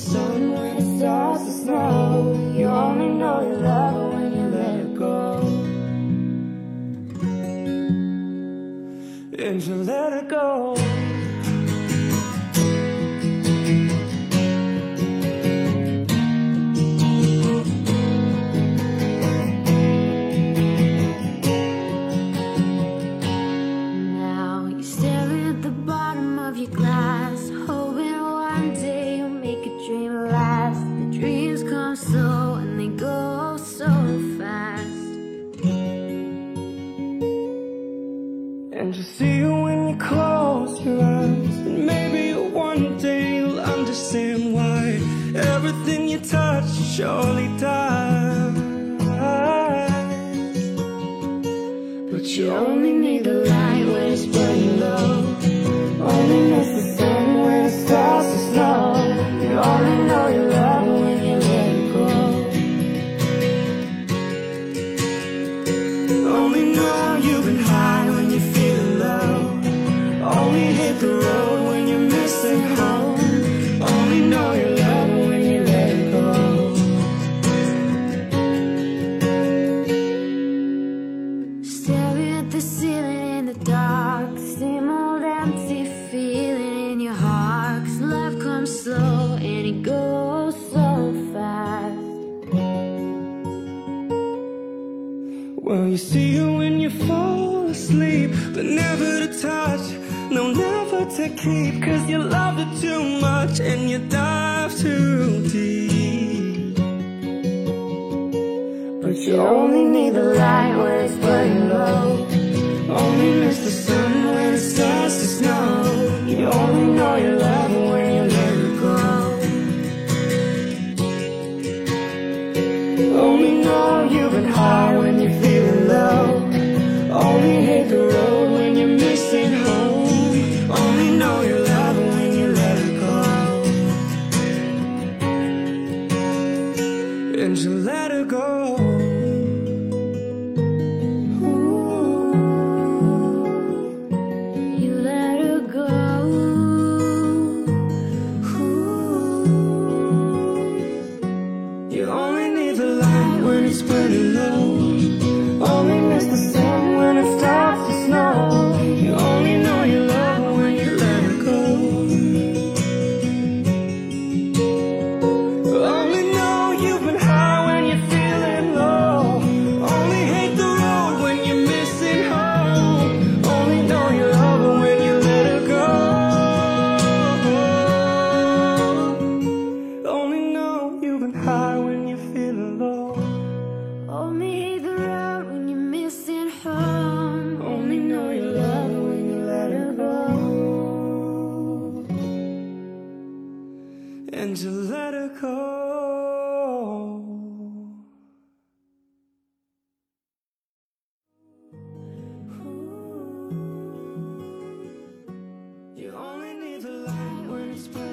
sun when it starts to snow. You only know you love her when you let her go. And you let her go. Now you're staring at the bottom of your glass, hoping one day you'll make a dream last. The dreams come slow and they go so fast. And you see her when you close your eyes, and maybe one day you'll understand why everything you touch surely dies. But you only need the light when it's burning low. Only miss the sun when it starts to snow. You only know you love her when you let it go. Only know you've been high when you're feeling low. Only hit the road when you're missing home. Only know you love her when you let it go. Staring at the ceiling in the dark, the same old empty feeling in your heart. 'Cause life comes slow and it goes so fast. Well, you see her when you fall asleep, but never to touch, no, never to keep. 'Cause you loved her too much and you dive too deep. But you only need the light when it's burning low. Only miss the sun when it starts to snow. You only know you love her when you let her go. Only know you've been high when you're feeling low. Only hate the road when you're missing home. Only know you love her when you let her go. And you let her go. You let her go. You only need the light when it's burning low. Only miss the sun when it starts to snow. You only know you love her when you let her go. Only know you've been high when you're feeling low. Only hate the road when you're missing home. Only know you love her when you let her go. Only know you've been high when you're feeling low. Only hate the road when you're missing home. Only know you love her when you let her go. And you let her go. You only need the light when it's burning.